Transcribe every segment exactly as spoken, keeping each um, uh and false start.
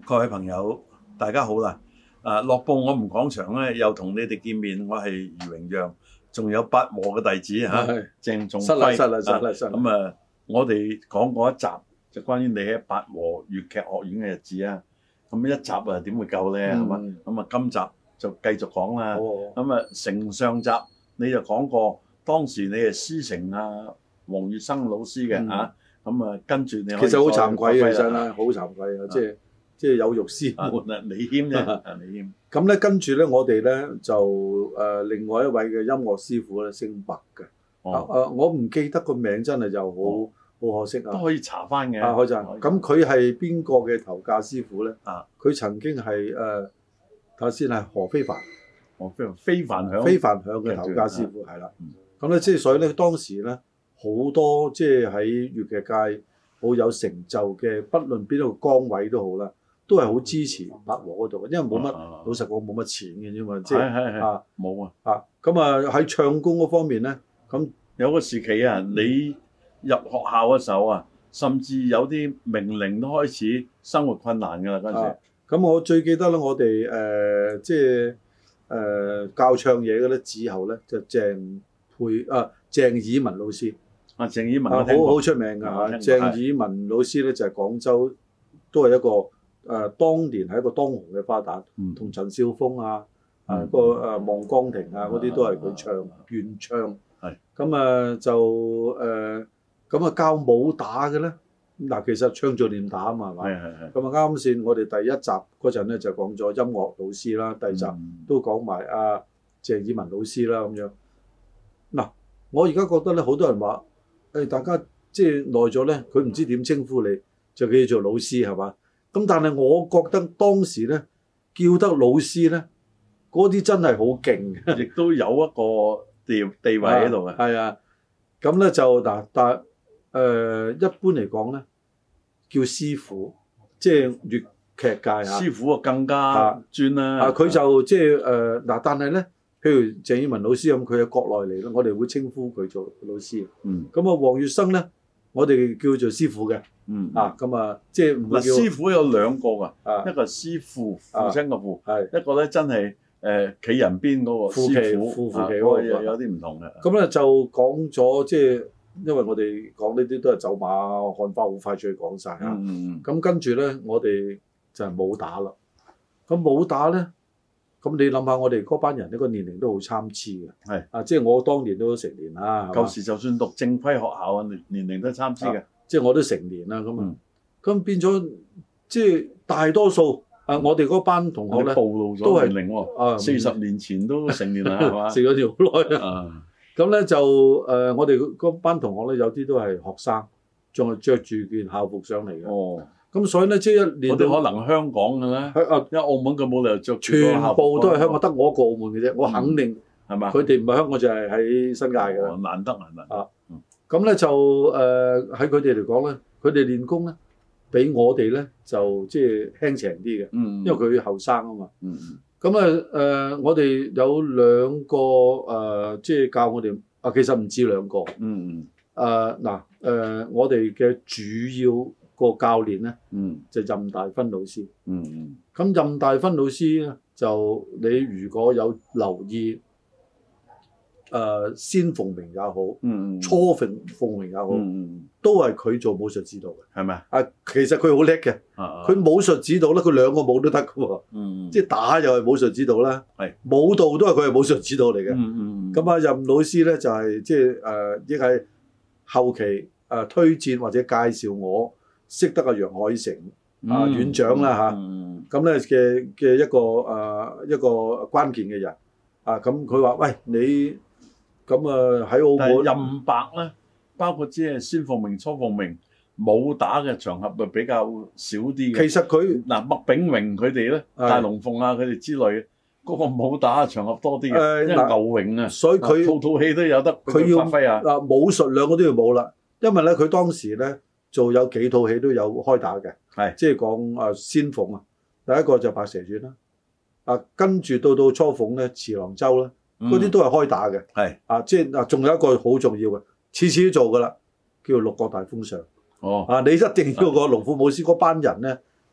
各位朋友，大家好啦！啊，樂報我們講場咧，又同你哋見面，我係余榮讓，仲有八和嘅弟子嚇，鄭仲輝。 失禮失禮失禮失禮。 咁啊，我哋講過一集就關於你喺八和粵劇學院嘅日子啊。咁一集啊點會夠咧？係嘛？咁啊，今集就繼續講啦。咁啊，承上集你就講過，當時你係師承啊黃月生老師嘅嚇。咁啊，跟住你其實好慚愧嘅，真係好慚愧啊！即係即係有辱師門啊！李謙啫，李謙。 咁咧，跟住咧，我哋咧就誒另外一位嘅音樂師傅咧，姓白嘅。啊誒，我唔記得個名，真係就好好可惜啊！ 都可以查翻嘅。 啊，可以查。咁佢係邊個嘅頭架師傅咧？ 啊，佢曾經係誒頭先係何非凡， 何非凡非凡響非凡響嘅頭架師傅係啦。咁咧，即係所以咧，當時咧。好多即係喺粵劇界好有成就嘅，不論邊一個崗位都好啦，都係好支持八和嗰度，因為冇乜、啊、老實講冇乜錢嘅啫嘛，即係啊冇啊啊咁啊喺唱功嗰方面咧，咁有個時期啊，你入學校嘅時候啊，甚至有啲名伶都開始生活困難㗎啦嗰陣時。 咁、啊、我最記得咧，我哋誒、呃、即係誒、呃、教唱嘢嘅咧，之後咧就鄭佩啊鄭以文老師。 啊，鄭以文啊，好好出名㗎嚇！鄭以文老師咧就係、是、廣州，都係一個誒、呃，當年係一個當紅嘅花旦，同、嗯、陳少峰啊，嗯、啊個誒望江亭啊嗰啲都係佢唱原唱。係咁啊就誒咁啊教武打嘅咧，嗱其實唱做練打啊嘛，係嘛？係係係。咁啊啱先，我哋第一集嗰陣咧就講咗音樂老師啦，第二集都講埋阿鄭以文老師啦咁樣。嗱、啊，我而家覺得咧，好多人話。誒大家即係耐咗咧，佢唔知點稱呼你，就叫做老師係嘛？咁但係我覺得當時咧叫得老師咧，嗰啲真係好勁嘅， 亦都有一個地地位喺度嘅。 係啊，咁咧就嗱，但係誒、呃、一般嚟講咧，叫師傅，即係粵劇界啊。 師傅啊更加專啦。 啊，佢就即係誒嗱，但係咧。譬如鄭以文老師咁，佢喺國內嚟啦，我哋會稱呼佢做老師。嗯。咁啊，黃月生咧，我哋叫做師傅嘅。嗯。啊，咁啊，即係唔會叫。嗱，師傅有兩個㗎。啊。一個師父，父親個父。係、啊。一個咧真係誒企人邊嗰個師傅。父父企嗰個有有啲唔同嘅。咁咧就講咗，即係因為我哋講呢啲都係走馬看花，好快脆講晒。啊。嗯嗯。咁跟住咧，我哋就係武打啦。咁武打咧。咁你諗下，我哋嗰班人呢個年齡都好參差嘅，係啊，即係我當年都成年啦。 舊時就算讀正規學校啊，年年齡都參差嘅， 即係我都成年啦。咁啊，咁、嗯、變咗即係大多數啊，我哋嗰班同學咧暴露咗年齡喎，啊，四十年前都成年啦，係嘛？食咗條好耐啊！咁咧就誒、呃，我哋嗰班同學咧有啲都係學生，仲係着住件校服上嚟嘅。哦。咁所以咧，即係一年都可能香港嘅咧，因為澳門佢冇理由着全部都係香港，得我一個澳門嘅啫。我肯定係嘛，佢哋唔係香港就係喺新界嘅啦。 難得難得啊！ 咁咧就誒喺佢哋嚟講咧，佢哋練功咧比我哋咧就即係輕鬆啲嘅，因為佢後生啊嘛。咁啊誒，我哋有兩個誒，即係教我哋啊，其實唔止兩個。嗯嗯。誒嗱誒，我哋嘅主要個教練咧，嗯，就任大芬老師，嗯嗯，咁任大芬老師咧，就你如果有留意，誒、呃，先鳳鳴也好，嗯嗯，初鳳鳳鳴也好，嗯嗯，都係佢做武術指導嘅，係咪啊？其實佢好叻嘅，佢武術指導咧，佢兩個武都得㗎喎，嗯嗯，即係打又係武術指導啦，係舞蹈都係佢係武術指導嚟嘅，嗯嗯，咁啊任老師咧就係即係誒，亦係後期誒、呃、推薦或者介紹我。識得阿楊海成啊院長啦嚇，咁咧嘅嘅一個誒、呃、一個關鍵嘅人啊，咁佢話：喂，你咁啊喺澳門任白咧，包括即係先鳳鳴、初鳳鳴武打嘅場合就比較少啲嘅。 其實佢嗱麥炳榮佢哋咧，大龍鳳啊佢哋之類嗰、那個武打嘅場合多啲嘅、呃，因為牛榮啊， 所以佢套套戲都有得佢要發揮啊。 嗱武術兩個都要冇啦，因為咧佢當時咧。做有幾套戲都有開打嘅，係即係講啊先鳳啊，第一個就白蛇傳啦，啊跟住到到初鳳咧，慈郎洲啦，嗰啲都係開打嘅，係啊即係啊仲有一個好重要嘅，次次都做噶啦，叫六國大封相。哦，啊你一定要個龍虎武師嗰班人咧，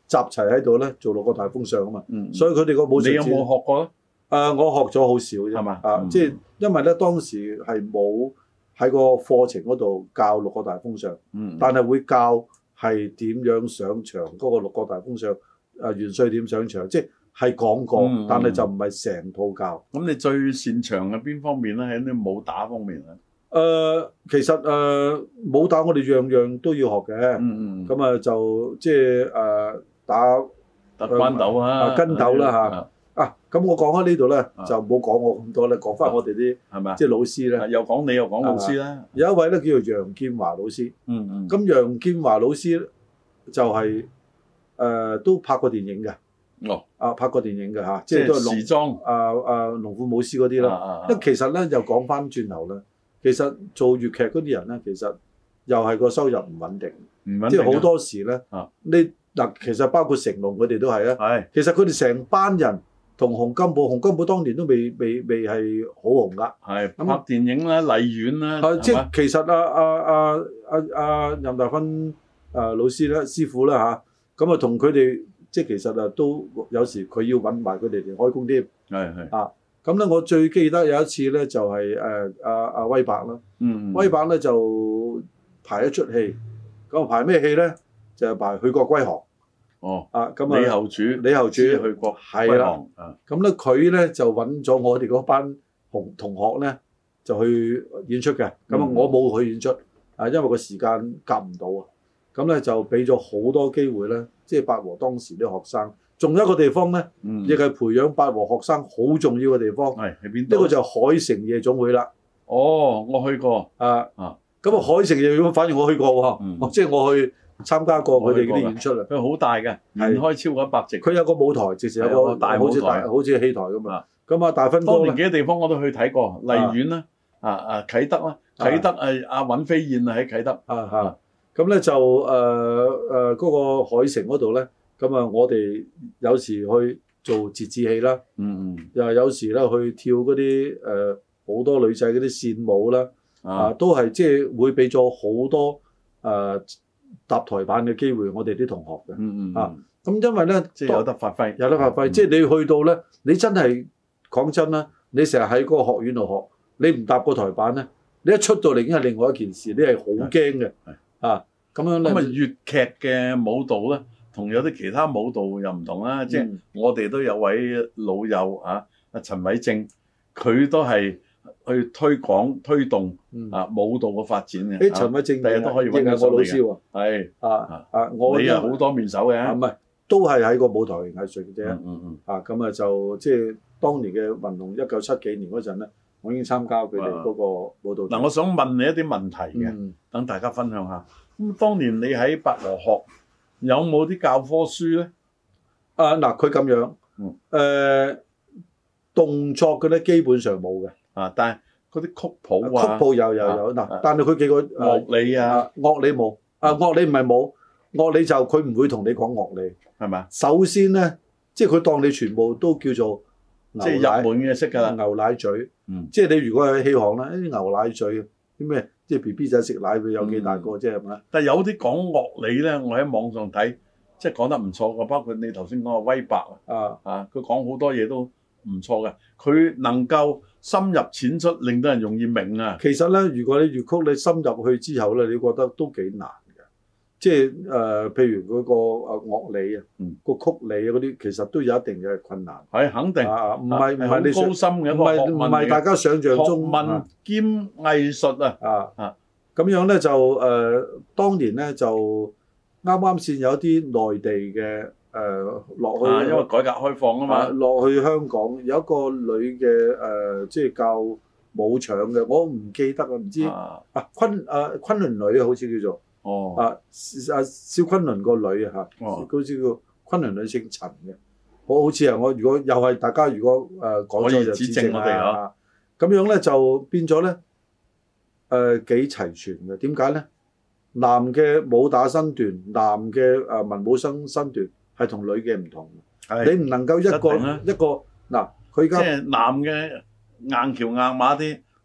集齊喺度咧做六個大風尚啊嘛。 嗯， 所以佢哋個武術。 你有冇學過咧？ 誒、呃，我學咗好少啫。係嘛？啊，嗯、即係因為咧當時係冇喺個課程嗰度教六個大風尚。嗯。但係會教係點樣上場嗰個六個大風尚，誒元帥點上場，即係。係講過，嗯、但係就唔係成套教。咁你最擅長嘅邊方面咧？喺啲武打方面啊？ 誒、呃，其實誒、呃、武打我哋樣樣都要學嘅。嗯嗯。咁啊就即係誒打打關鬥啊， 跟鬥啦嚇。啊，咁我講開呢度咧，就冇講我咁多咧，講翻我哋啲係咪即係老師咧。 又講你又講老師啦。 有一位咧叫做楊建華老師。嗯嗯。咁楊建華老師就係、是、誒、呃、都拍過電影嘅。 哦， 啊拍過電影嘅嚇， 即係都係時裝， 啊啊龍虎武師嗰啲啦。因為其實咧又講翻轉頭咧，其實做粵劇嗰啲人咧，其實又係個收入唔穩定，唔穩定，即係好多時咧。啊，你嗱其實包括成龍佢哋都係啊。係。其實佢哋成班人同洪金寶，洪金寶當年都未未未係好紅㗎。係。咁拍電影啦，荔園啦。 係即係其實啊啊啊啊啊任大芬啊老師咧師傅啦嚇，咁啊同佢哋。即係其實啊，都有時佢要揾埋佢哋嚟開工添。係係啊，咁咧我最記得有一次咧，就係誒阿阿威伯啦。嗯，威伯咧就排一出戲，咁啊排咩戲咧？就係排去國歸航。哦。啊，咁啊。李後主。李後主去國歸航。啊。咁咧佢咧就揾咗我哋嗰班同同學咧，就去演出嘅。咁啊，我冇去演出，啊，因為個時間夾唔到啊。咁咧就俾咗好多機會咧。即係八和當時啲學生，仲有一個地方咧，亦係、嗯、培養八和學生好重要嘅地方。係喺邊度？呢個就係海城夜總會啦。哦，我去過。啊啊，咁啊海城夜總會，反而我去過喎。嗯、即係我去參加過佢哋嗰啲演出啊。佢好大嘅，連開超過一百席。佢有個舞台，直情有個大舞台，好似戲台咁啊。咁啊，大芬哥當年幾個地方我都去睇過，荔園啦，啊啊啟德啦，啟德誒阿尹飛燕啊喺啟德。啊啊。咁咧就誒誒嗰個海城嗰度咧，咁啊我哋有時去做折子戲啦，嗯嗯，又有時咧去跳嗰啲誒好多女仔嗰啲線舞啦，啊，啊都係即係會俾咗好多誒、呃、搭台板嘅機會我哋啲同學嘅，嗯嗯，啊咁因為咧即係有得發揮，有得發揮，嗯、即係你去到咧，你真係講真啦，你成日喺嗰個學院度學，你唔搭個台板咧，你一出到嚟已經係另外一件事，你係好驚嘅。啊，咁樣咧，咁啊粵劇嘅舞蹈咧，同有啲其他舞蹈又唔同啦。嗯、即係我哋都有位老友啊，阿陳偉正，佢都係去推廣推動啊舞蹈嘅發展嘅。誒、嗯，陳偉正第日都可以揾我老師喎。係啊啊，我你又好多面手嘅。唔係，都係喺個舞台藝術嘅啫。嗯嗯嗯。啊，咁啊就即係當年嘅雲龍一九七幾年嗰陣咧。我已經參加佢哋嗰個舞蹈。嗱，我想問你一啲問題嘅，等、嗯、大家分享下。咁當年你喺八和學有冇啲教科書咧？啊，嗱，佢咁樣，誒、嗯呃、動作嘅咧基本上冇嘅。啊，但係嗰啲曲譜啊，曲譜有有有。嗱、啊，但係佢幾個樂理啊，樂理冇。啊，樂理唔係冇，樂理就佢唔會同你講樂理，係咪啊？首先咧，即係佢當你全部都叫做。即係入門嘅識㗎啦，牛奶嘴，嗯、即係你如果喺戲行啦，啲牛奶嘴啲咩，即係 B B 仔食奶佢有幾大個啫係咪？但係有啲講樂理咧，我喺網上睇，即係講得唔錯嘅，包括你頭先講嘅威伯啊，啊，佢講好多嘢都唔錯嘅，佢能夠深入淺出，令到人容易明啊。其實咧，如果你粵曲你深入去之後咧，你覺得都幾難。即係誒、呃，譬如嗰個誒樂理啊，個、嗯、曲理啊嗰啲，其實都有一定嘅困難。係肯定，唔係唔係你高深嘅，唔係唔係大家想象中學問兼藝術啊啊啊！咁樣咧就誒、呃，當年咧就啱啱先有啲內地嘅誒落去、啊，因為改革開放啊嘛，落、啊、去香港有一個女嘅誒、呃，即係教武場嘅，我唔記得啊，唔知啊啊昆啊昆侖女好似叫做。哦，啊，阿蕭昆侖個女啊嚇，好似個昆侖女姓陳嘅，我好似係我如果又係大家如果誒講咗就指正我哋啊，咁樣咧就變咗咧誒幾齊全嘅，點解咧？男嘅武打身段，男嘅誒文武生身段係同女嘅唔同，你唔能夠一個一個嗱，佢而家即係男嘅硬橋硬馬啲，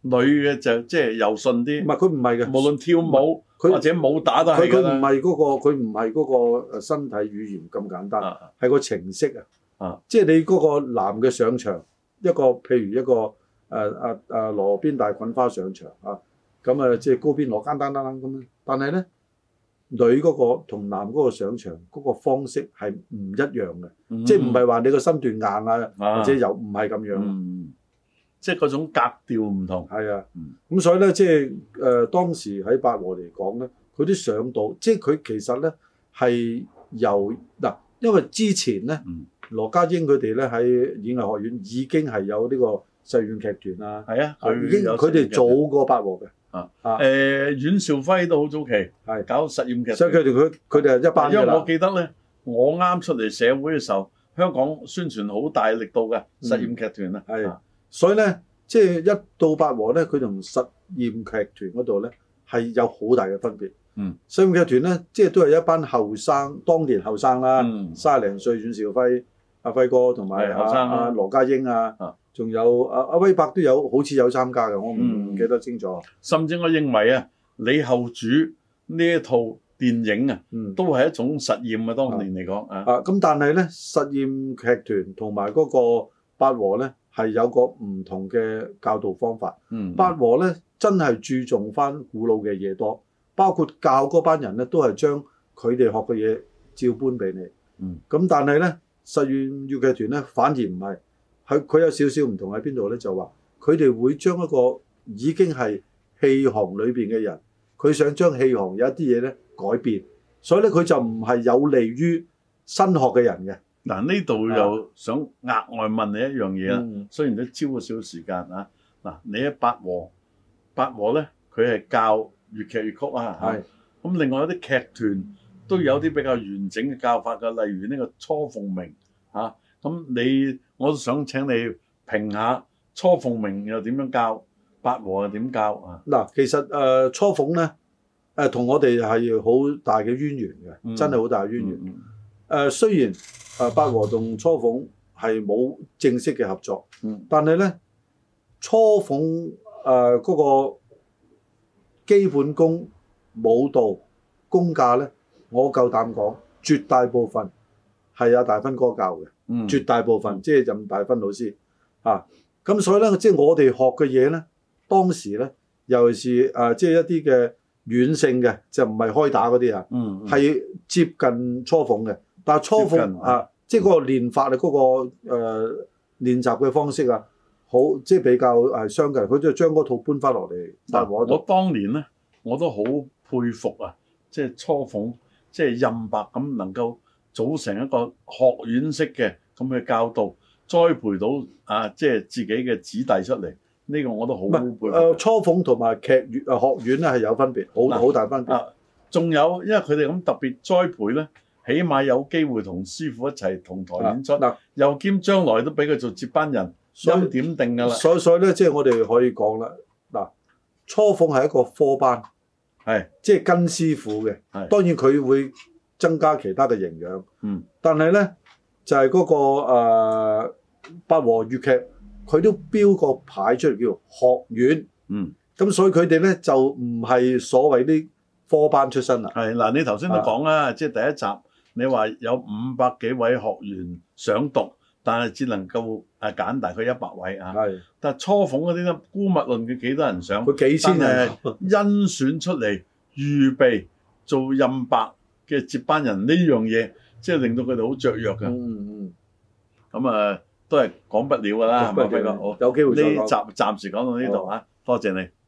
女嘅就即係柔順啲。 唔係佢唔係嘅， 無論跳舞或者武打都係㗎啦。 佢佢唔係嗰個，佢唔係嗰個誒身體語言咁簡單，係、啊、個程式啊。啊，即係你嗰個男嘅上場，一個譬如一個誒誒誒羅邊大滾花上場啊，咁啊即係高邊攞間單單咁樣。但係咧，女嗰個同男嗰個上場嗰個方式係唔一樣嘅、嗯，即係唔係話你個身段硬啊，啊或者又唔係咁樣。嗯， 即係嗰種格調唔同。係啊，咁、 嗯、所以咧，即係誒、呃、當時喺八和嚟講咧，佢啲上到，即係佢其實咧係由嗱，因為之前咧。嗯羅家英佢哋咧喺演藝學院已經係有呢個實驗劇團啦，係啊，已經佢哋早過八和嘅，啊啊，誒、 呃、阮兆輝都好早期係搞實驗劇團， 所以佢哋佢佢哋係一班。 因為我記得咧，我啱出嚟社會嘅時候，香港宣傳好大力度嘅實驗劇團啊，係、嗯，所以咧即係一到八和咧，佢同實驗劇團嗰度咧係有好大嘅分別。嗯，實驗劇團咧即係都係一班後生，當年後生啦，卅零歲阮兆輝。阿輝哥同埋阿阿羅家英啊，仲有阿阿威伯都有，好似有參加嘅，我唔、嗯、記得清楚。 甚至我認為啊，李後主呢一套電影啊，嗯、都係一種實驗啊，當年嚟講啊。 啊，咁但係咧，實驗劇團同埋嗰個八和咧，係有個唔同嘅教導方法。嗯，八和咧真係注重翻古老嘅嘢多，包括教嗰班人咧都係將佢哋學嘅嘢照搬俾你。嗯，咁但係咧。實驗粵劇團咧反而唔係，佢佢有少少唔同喺邊度咧？就話佢哋會將一個已經係戲行裏邊嘅人，佢想將戲行有一啲嘢咧改變，所以咧佢就唔係有利於新學嘅人嘅。 嗱，呢度又想額外問你一樣嘢啦、嗯，雖然都超過少少時間啊。嗱，你喺八和，八和咧佢係教粵劇粵曲啊，係咁，另外有啲劇團。都有啲比較完整嘅教法㗎，例如呢個雛鳳鳴嚇，咁、啊、你我都想請你評下雛鳳鳴又點樣教，八和又點教啊？ 嗱，其實誒雛鳳咧誒同我哋係好大嘅淵源嘅、嗯，真係好大嘅淵源。誒、嗯呃、雖然誒八和同雛鳳係冇正式嘅合作，嗯、但係咧雛鳳誒嗰個基本功、舞蹈、功架咧。我夠膽講，絕大部分係阿大芬哥教嘅、嗯，絕大部分即係任大芬老師啊。咁所以咧，即係我哋學嘅嘢咧，當時咧，尤其是誒即係一啲嘅軟性嘅，就唔係開打嗰啲啊，係、嗯、接近雛鳳嘅。但係雛鳳啊，即係嗰個練法啊，嗰、嗰個誒、呃、練習嘅方式啊，好即係比較係相近。佢就將嗰套搬翻落嚟。但我我當年咧，我都好佩服啊，即係雛鳳。即係任白咁能夠組成一個學院式嘅咁嘅教導，栽培到啊，即係自己嘅子弟出嚟。呢、這個我都好佩服。 誒，雛鳳同埋劇院啊學院咧係有分別，好好大分別。 仲、啊、有，因為佢哋咁特別栽培咧，起碼有機會同師傅一齊同台演出。嗱、啊，又兼將來都俾佢做接班人，欽點定㗎啦。 所以所以咧，即係我哋可以講啦。嗱，雛鳳係一個科班。係，即係跟師傅嘅。係，當然佢會增加其他嘅營養。嗯，但係咧就係、是、嗰、那個誒八和粵劇，佢都標個牌出嚟叫做學院。嗯，咁所以佢哋咧就唔係所謂啲科班出身啦。係嗱，你頭先都講啦，即係第一集你話有五百幾位學員想讀，但係只能夠誒揀大概一百位啊。係，但係雛鳳嗰啲咧，姑勿論佢幾多人想，佢幾千人甄選出嚟預備做任白嘅接班人呢樣嘢，即係令到佢哋好雀躍嘅。嗯嗯。咁啊，都係講不了㗎啦，係咪？好，有機會再講。呢集暫時講到呢度啊，多謝你。